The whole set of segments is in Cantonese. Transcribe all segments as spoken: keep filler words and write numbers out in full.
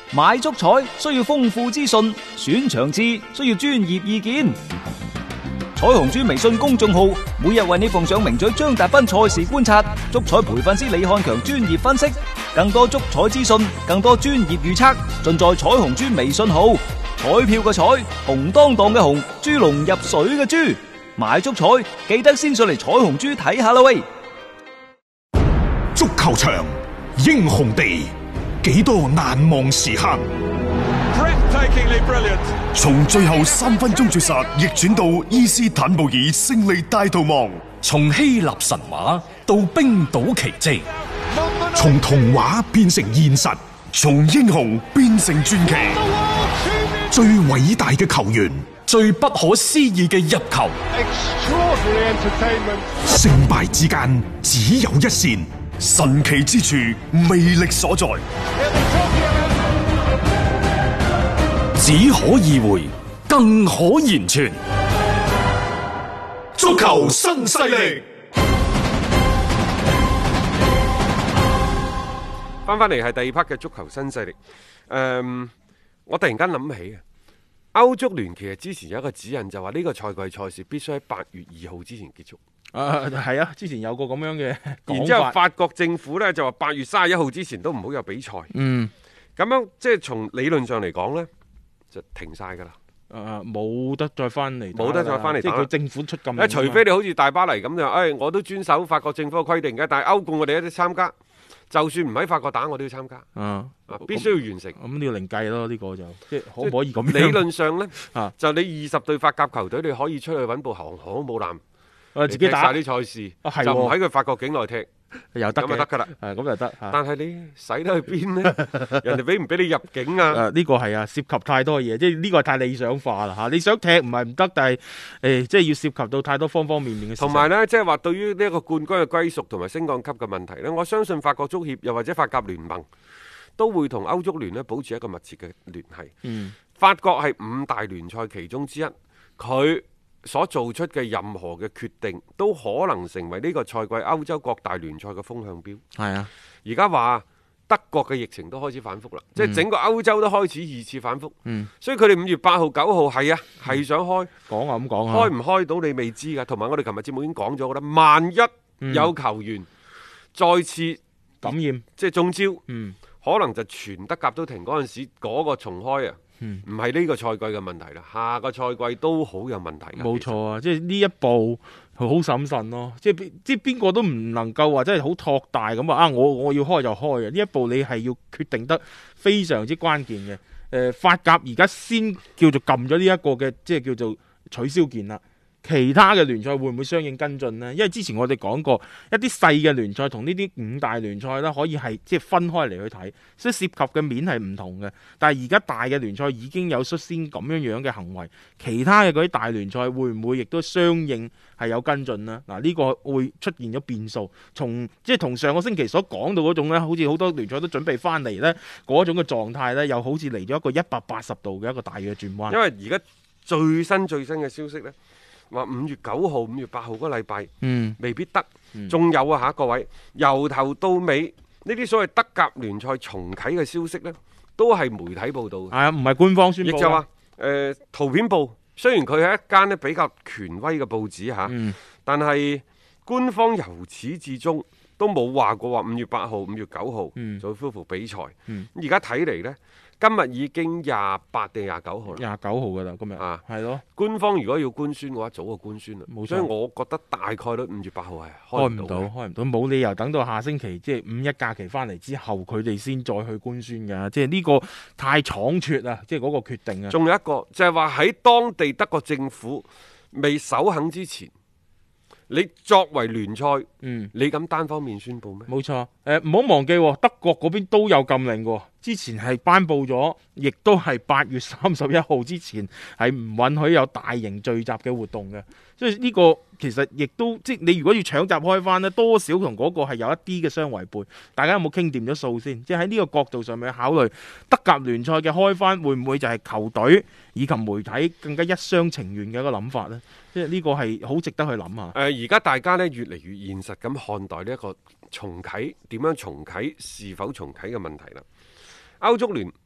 買足彩需要豐富資訊，選場次需要專業意見。彩虹豬微信公眾號每日為你奉上名嘴張達斌賽事觀察，足彩培訓師李漢強專業分析，更多足彩資訊，更多專業預測，盡在彩虹豬微信號。彩票嘅彩，紅當當嘅紅，豬籠入水嘅豬，買足彩記得先上嚟彩虹豬睇下啦喂！ 足球場，英雄地，幾多難忘時刻。從最後三分鐘絕殺逆轉到伊斯坦布爾勝利大逃亡， 從希臘神話到冰島奇蹟， 從童話變成現實，從英雄變成傳奇。最偉大嘅球員， 最不可思議嘅入球， 勝敗之間只有一線，神奇之處魅力所在， 只可意會，更可言傳。 足球新勢力。 翻翻嚟係第二 part 嘅足球新勢力。誒、嗯，我突然間諗起啊，歐足聯其實之前有一個指引，就話呢個賽季賽事必須喺八月二號之前結束。 啊，係啊，之前有個咁樣嘅講法。 然之後法國政府呢就話八月三十一號之前都唔好有比賽。 嗯， 咁樣即係從理論上嚟講呢，就停晒㗎啦。 誒、啊，冇得再翻嚟， 冇得再翻嚟， 即係佢政府出禁。 除非你好似大巴黎咁就，誒、哎，我都遵守法國政府嘅規定嘅，但係歐冠我哋一啲參加。就算唔喺法國打，我都要參加。 啊， 必須要完成。 咁你要另計咯，呢、這個就即係可唔可以咁樣？ 理論上呢， 啊、 就你二十隊法甲球隊，你可以出去揾部航空母艦， 啊，自己打晒啲賽事， 啊、 就唔喺佢法國境內踢。 又得嘅，咁就得噶啦， 係咁就得。 但係你使得去邊呢？人哋俾唔俾你入境啊？ 誒、啊，呢、這個係啊，涉及太多嘢，即係呢個係太理想化啦嚇。你想踢唔係唔得，但係誒、欸，即係要涉及到太多方方面面嘅事。 同埋呢，即係話對於呢一個冠軍嘅歸屬同埋升降級嘅問題呢，我相信法國足協又或者法甲聯盟都會同歐足聯呢保持一個密切嘅聯繫。 嗯， 法國係五大聯賽其中之一，佢所做出嘅任何嘅決定都可能成為呢個賽季歐洲各大聯賽嘅風向標。 係啊， 而家話德國嘅疫情都開始反覆啦，嗯、即係整個歐洲都開始二次反覆。 嗯，所以佢哋五月八號、九號係啊，係想開。 講啊咁講啊， 開唔開到你未知㗎。同埋我哋琴日節目已經講咗㗎啦，萬一有球員再次感染， 即係中招， 嗯， 可能就全德甲都停嗰陣時，嗰、嗰個重開啊。唔係呢個賽季嘅問題啦，下個賽季都好有問題。 冇錯啊，即係呢一步好審慎咯，即係即係邊個都唔能夠話真係好托大咁話啊！我我要開就開啊！呢一步你係要決定得非常之關鍵嘅。誒、呃，法甲而家先叫做撳咗呢一個嘅，即係叫做取消鍵啦。其他嘅聯賽會唔會相應跟進呢？因為之前我哋講過一啲細嘅聯賽同呢啲五大聯賽咧，可以係即係分開嚟去睇，所以涉及嘅面係唔同嘅。但係而家大嘅聯賽已經有率先咁樣樣嘅行為，其他嘅嗰啲大聯賽會唔會亦都相應係有跟進呢？嗱，呢個會出現咗變數，從即係同上個星期所講到嗰種咧，好似好多聯賽都準備翻嚟呢嗰種嘅狀態呢，又好似嚟咗一個一百八十度嘅一個大嘅轉彎。 因為而家最新最新嘅消息呢，話五月九號、五月八號嗰個禮拜，嗯，未必得。仲、嗯、有啊嚇，各位，由頭到尾呢啲所謂德甲聯賽重啟嘅消息呢，都係媒體報道嘅。係啊， 唔係官方宣佈。 亦就話，誒、呃、圖片報雖然佢係一間咧比較權威嘅報紙嚇，嗯、但係官方由始至終都冇話過話五月八號、五月九號就會恢復比賽。而家睇嚟呢。今日已經廿八定廿九號啦， 廿九號噶啦，今日啊，係咯。 官方如果要官宣嘅話，早就官宣啦。 冇錯， 所以我覺得大概率五月八號係開唔到，開唔到，冇理由等到下星期即係五一假期翻嚟之後，佢哋先再去官宣噶。即係呢個太倉促啦，即係嗰個決定啊。 仲有一個就係話喺當地德國政府未首肯之前，你作為聯賽，嗯，你敢單方面宣佈咩？ 冇錯，誒唔好忘記，德國嗰邊都有禁令喎。之前係頒布咗，亦都係八月三十一號之前係唔允許有大型聚集嘅活動嘅。所以呢個其實亦都即係你如果要搶閘開翻呢，多少同嗰個係有一啲嘅相違背。大家有冇傾掂咗數先？即係喺呢個角度上面考慮德甲聯賽嘅開翻，會唔會就係球隊以及媒體更加一廂情願嘅一個諗法呢？即係呢個係好值得去諗下。誒、 呃，而家大家呢越嚟越現實咁看待呢一個重啟點樣重啟、是否重啟嘅問題啦。歐足聯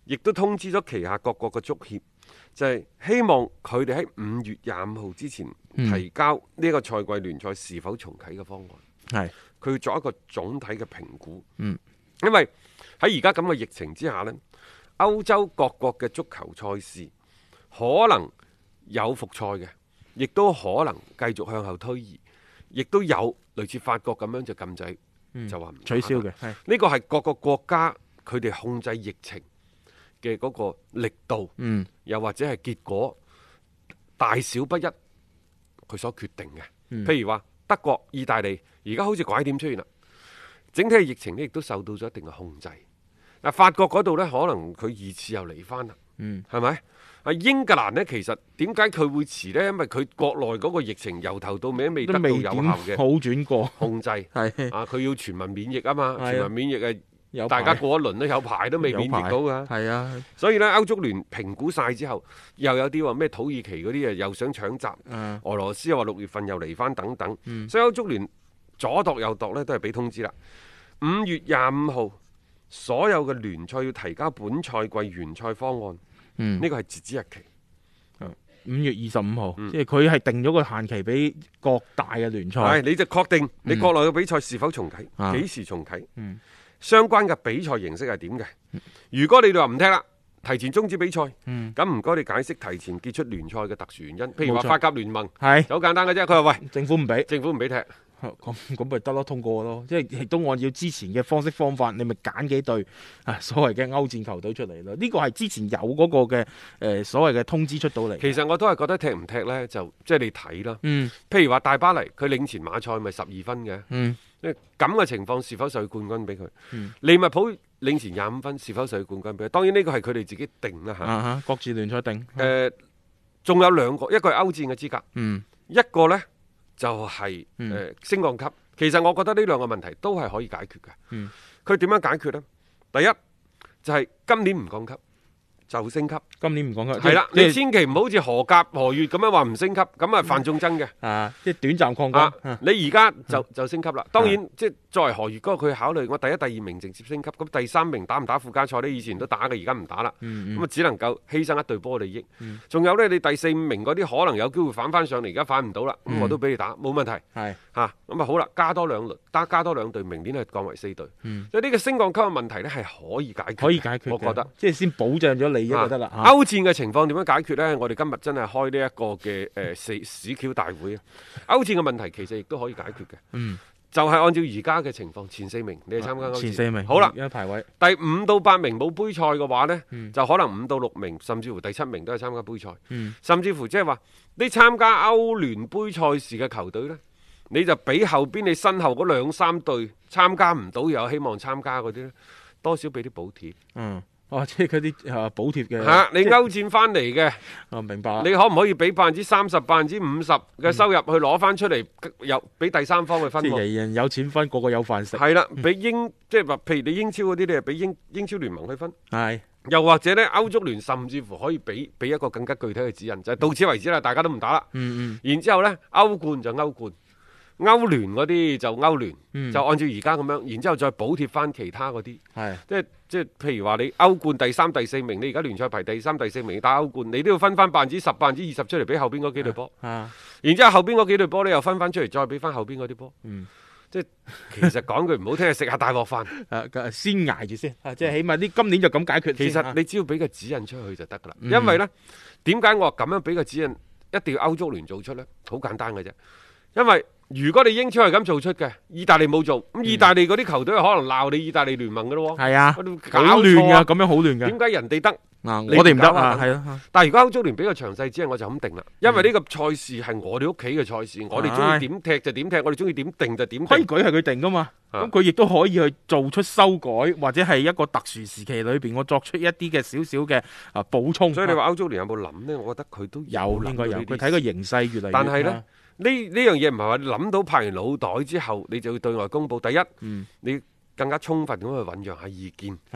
亦都通知咗旗下各國嘅足協，就係、是、希望佢哋喺五月廿五號之前提交呢個賽季聯賽是否重啟嘅方案。 係佢要做一個總體嘅評估。 嗯， 因為喺而家咁嘅疫情之下呢，歐洲各國嘅足球賽事可能有復賽嘅，亦都可能繼續向後推移，亦都有類似法國咁樣就禁制，嗯、就話唔取消嘅。 呢個係各個國家佢哋控制疫情嘅嗰個力度， 嗯、 又或者係結果大小不一，佢所決定嘅。 嗯、 譬如話德國、意大利，而家好似拐點出現啦，整體嘅疫情呢亦都受到咗一定嘅控制。嗱，法國嗰度呢，可能佢二次又嚟翻啦， 嗯， 係咪？啊，英格蘭呢，其實點解佢會遲呢？因為佢國內嗰個疫情由頭到尾都未得到有效嘅好轉過控制， 係啊，佢要全民免疫啊嘛， 係啊全民免疫係。 有大家過一輪都有排都未免疫到㗎， 係啊， 所以呢，歐足聯評估晒之後，又有啲話咩土耳其嗰啲啊又想搶閘， 嗯、 俄羅斯又話六月份又嚟翻等等， 嗯、 所以歐足聯左度右度呢都係俾通知啦。五月廿五號，所有嘅聯賽要提交本賽季原賽方案，呢、 嗯、 個係截止日期。 五月二十五號， 嗯、 即係佢係定咗個限期俾各大嘅聯賽。 係，你就確定你國內嘅比賽是否重啟，幾、嗯、時重啟？ 嗯相關嘅比賽形式係點嘅？如果你哋話唔踢啦，提前終止比賽，咁唔該你解釋提前結束聯賽嘅特殊原因。譬如話法甲聯盟係好簡單嘅啫，佢話喂， 政府唔俾， 政府唔俾踢， 咁咁咪得咯，通過咯。即係亦都按照之前嘅方式方法，你咪揀幾隊啊所謂嘅歐戰球隊出嚟咯。呢個係之前有嗰個嘅誒、呃、所謂嘅通知出到嚟。 其實我都係覺得踢唔踢呢，就即係、就是、你睇啦。 嗯， 譬如話大巴黎，佢領前馬賽咪十二分嘅。 嗯。 咁嘅情況是否授予冠軍俾佢？ 嗯、 利物浦領前廿五分，是否授予冠軍俾佢？當然呢個係佢哋自己定啦嚇。 啊各自聯賽定。 誒，仲、呃、有兩個，一個係歐戰嘅資格， 嗯、 一個呢就係、是、誒、 嗯呃、升降級。其實我覺得呢兩個問題都係可以解決嘅。佢點、嗯、樣解決呢？第一就係、是、今年唔降級就升級。 今年唔降級。 係啦， 即你千祈唔好好似荷甲、荷乙咁樣話唔升級，咁啊犯眾憎嘅。 啊，即係短暫抗降。 啊、你而家就、嗯、就升級啦。當然， 啊、 即係作為荷乙嗰個，佢考慮我第一、第二名直接升級，咁第三名打唔打附加賽呢？以前都打嘅，而家唔打啦。咁啊、 嗯嗯， 只能夠犧牲一隊波利益。仲、 嗯、 有呢，你第四五名嗰啲可能有機會反翻上嚟，而家反唔到啦。咁、嗯、我都俾你打，冇問題。 係嚇，咁啊好啦，加多兩輪，加加多兩隊，明年係降為四隊。 嗯、 所以呢個升降級嘅問題呢，係可以解決， 可以解決。 我覺得即係先保障咗利益就得啦。 啊、歐戰嘅情況點樣解決呢？我哋今日真係開呢一個嘅誒屎屎橋大會啊！歐戰嘅問題其實亦都可以解決嘅。 嗯， 就係按照而家嘅情況，前四名你係參加歐戰。 前四名好啦， 一排位。 第五到八名冇杯賽嘅話呢， 嗯、 就可能五到六名，甚至乎第七名都係參加杯賽。 嗯、甚至乎即係話你參加歐聯杯賽事嘅球隊呢，你就俾後邊你身後嗰兩三隊參加唔到又有希望參加嗰啲呢，多少俾啲補貼。 嗯。哦，即係嗰啲啊補貼嘅。 嚇、啊，你歐戰翻嚟嘅， 哦明白。 你可唔可以俾百分之三十、百分之五十嘅收入去攞翻出嚟，又俾第三方去分？ 即係人人有錢分，個個有飯食。 係啦，俾英即係話，譬如你英超嗰啲，你係俾英英超聯盟去分。 係。 又或者呢，歐足聯甚至乎可以俾俾一個更加具體嘅指引，就係、是、到此為止啦，大家都唔打啦。 嗯嗯。 然之後呢，歐冠就歐冠。歐聯嗰啲就歐聯， 嗯、 就按照而家咁樣，然之後再補貼翻其他嗰啲， 係即係即係譬如話你歐冠第三、第四名，你而家聯賽排第三、第四名，你打歐冠，你都要分翻百分之十、百分之二十出嚟俾後邊嗰幾隊波， 啊， 然之後後邊嗰幾隊波你又分翻出嚟，再俾翻後邊嗰啲波， 嗯， 即係其實講句唔好聽，係食下大鑊飯， 誒先捱住先，啊，即係起碼啲今年就咁解決。 其實你只要俾個指引出去就得噶啦，嗯、因為呢點解我話咁樣俾個指引一定要歐足聯做出呢？好簡單嘅啫，因為如果你英超係咁做出嘅，意大利冇做，咁意大利嗰啲球隊可能鬧你意大利聯盟嘅咯喎。係啊，好亂啊，咁樣好亂嘅。點解人哋得？ 嗱，我哋唔得啊，係咯。 但係如果歐足聯俾個詳細指引，我就咁定啦。因為呢個賽事係我哋屋企嘅賽事，我哋中意點踢就點踢，我哋中意點定就點。 規矩係佢定噶嘛，咁佢亦都可以去做出修改，或者係一個特殊時期裏邊，我作出一啲嘅少少嘅啊補充。 所以你話歐足聯有冇諗呢？我覺得佢都有，應該有。佢睇個形勢越嚟越。 但係呢。呢呢樣嘢唔係話你諗到拍完腦袋之後，你就要對外公佈。第一，嗯、你更加充分咁去醖釀下意見。 係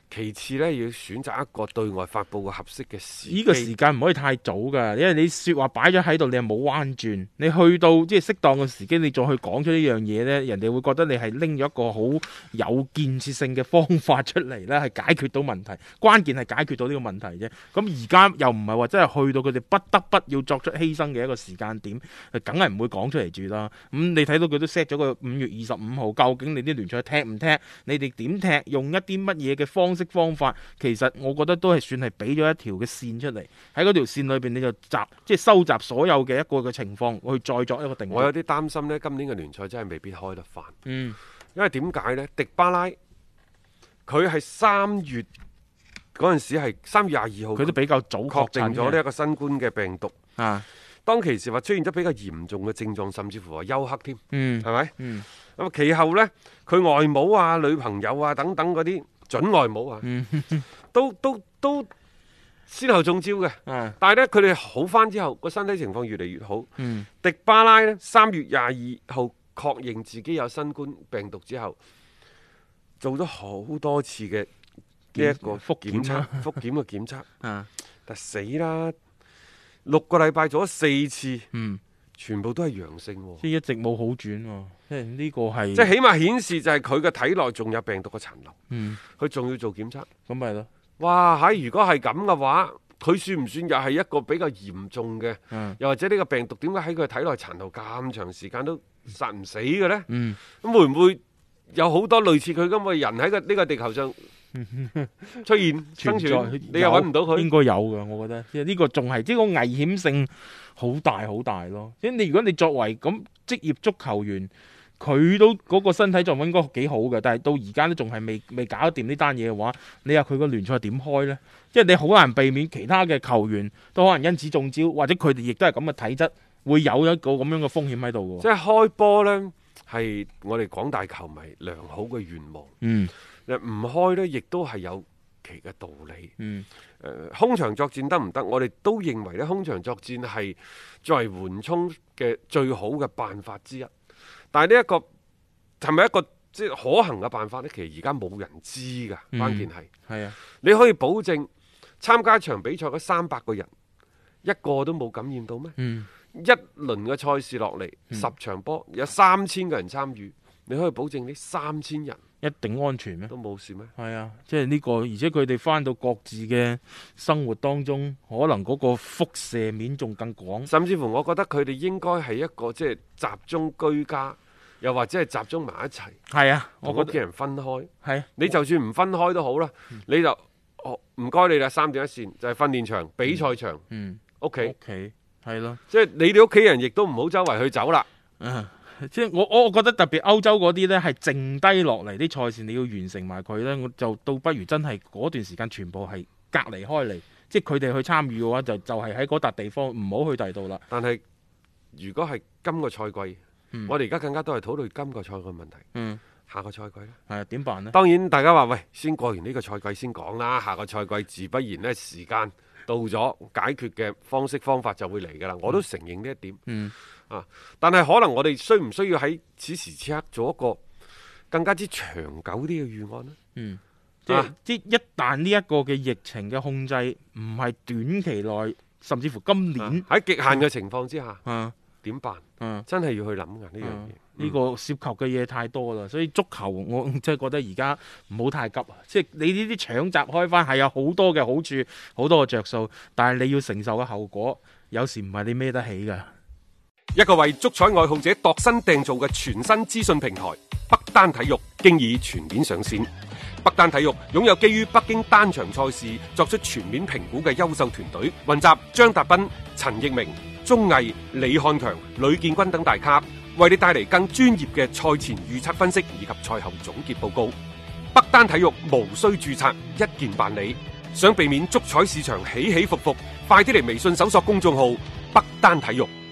其次呢，要選擇一個對外發布嘅合適嘅時機。 呢個時間唔可以太早㗎，因為你説話擺咗喺度，你係冇彎轉。你去到即係適當嘅時機，你再去講出呢樣嘢呢，人哋會覺得你係拎咗一個好有建設性嘅方法出嚟呢，係解決到問題。關鍵係解決到呢個問題啫。咁而家又唔係話真係去到佢哋不得不要作出犧牲嘅一個時間點，梗係唔會講出嚟住啦。咁、嗯、你睇到佢都 set 咗個五月二十五號，究竟你啲聯賽踢唔踢？你哋點踢？用一啲乜嘢嘅方式方法？其實我覺得都係算係俾咗一條嘅線出嚟，喺嗰條線裏邊你就集即係收集所有嘅一個嘅情況，去再作一個定義。 我有啲擔心呢，今年嘅聯賽真係未必開得翻。 嗯， 因為點解呢？迪巴拉佢係三月嗰陣時係三月廿二號， 佢都比較早確定咗呢呢一個新冠嘅病毒啊。 當其時話出現咗比較嚴重嘅症狀，甚至乎話休克添。 嗯， 係咪？ 嗯， 咁其後呢，佢外母啊、女朋友啊等等嗰啲準外母啊， 嗯、 都都都先後中招嘅。 啊、 但係呢，佢哋好翻之後，個身體情況越嚟越好。 嗯， 迪巴拉呢，三月廿二號確認自己有新冠病毒之後，做咗好多次嘅呢一個復檢測、 檢復檢嘅檢測。 啊， 但死啦！六個禮拜做咗四次， 嗯， 全部都係陽性喎。 即係一直冇好轉喎。即係呢個係即係起碼顯示就係佢嘅體內仲有病毒嘅殘留。 嗯， 佢仲要做檢測。 咁咪咯。 哇！喺如果係咁嘅話，佢算唔算又係一個比較嚴重嘅？ 嗯， 又或者呢個病毒點解喺佢體內殘留咁長時間都殺唔死嘅呢？ 嗯， 咁會唔會有好多類似佢咁嘅人喺個呢個地球上出現生存？你又揾唔到佢？ 應該有㗎，我覺得。即係呢個仲係即係個危險性好大好大咯。即係你如果你作為咁職業足球員，佢都嗰個身體狀況應該幾好嘅，但係到而家都仲係未未搞掂呢單嘢嘅話，你話佢個聯賽點開呢？即係你好難避免其他嘅球員都可能因此中招，或者佢哋亦都係咁嘅體質，會有一個咁樣嘅風險喺度嘅。 即係開波呢，係我哋廣大球迷良好嘅願望。 嗯， 唔開呢，亦都係有其嘅道理。 嗯， 誒、呃，空場作戰得唔得？我哋都認為咧，空場作戰係作為緩衝嘅最好嘅辦法之一。但係呢一個係咪一個即係可行嘅辦法呢？其實而家冇人知㗎， 嗯、 關鍵係係啊， 你可以保證參加一場比賽嗰三百個人一個都冇感染到咩？ 嗯， 一輪嘅賽事落嚟， 嗯、 十場波有三千個人參與，你可以保證呢三千人一定安全咩？ 都冇事咩？ 係啊，即係呢個，而且佢哋翻到各自嘅生活當中，可能嗰個輻射面仲更廣。 甚至乎，我覺得佢哋應該係一個即係集中居家。又或者係集中埋一齊， 係啊，我同屋企人分開。 係、啊， 你就算唔分開都好啦，嗯、你就哦唔該你啦，三點一線就係訓練場、比賽場， 嗯， 屋企， 屋企係咯， 即係你哋屋企人亦都唔好周圍去走啦。 啊，即係我我覺得特別歐洲嗰啲呢，係剩低落嚟啲賽事，你要完成埋佢呢，我就倒不如真係嗰段時間全部係隔離開嚟，即係佢哋去參與嘅話，就就係喺嗰笪地方，唔好去第度啦。 但係如果係今個賽季。嗯、我哋而家更加都係討論今個賽季嘅問題。嗯，下個賽季咧， 係點辦呢？ 當然，大家話喂，先過完呢個賽季先講啦。下個賽季自不然呢，時間到咗，解決嘅方式方法就會嚟噶啦。我都承認呢一點。嗯，啊，但係可能我哋需唔需要喺此時此刻做一個更加之長久啲嘅預案呢？嗯，即係、啊、 即一旦呢一個嘅疫情嘅控制唔係短期內，甚至乎今年喺極、啊、限嘅情況之下。嗯。啊點辦？ 嗯， 真係要去諗㗎呢樣嘢。 呢個涉及嘅嘢太多啦，所以足球我真係覺得而家唔好太急啊！即係你呢啲搶閘開翻係有好多嘅好處，好多嘅着數，但係你要承受嘅後果，有時唔係你孭得起㗎。 一個為足彩愛好者度身訂造嘅全新資訊平台北單體育，經已全面上線。北單體育擁有基於北京單場賽事作出全面評估嘅優秀團隊，雲集張達斌、陳奕明、鐘毅、李漢強、呂建軍等大咖，為你帶嚟更專業嘅賽前預測分析以及賽後總結報告。北單體育無需註冊，一鍵辦理。想避免足彩市場起起伏伏，快啲嚟微信搜索公眾號北單體育。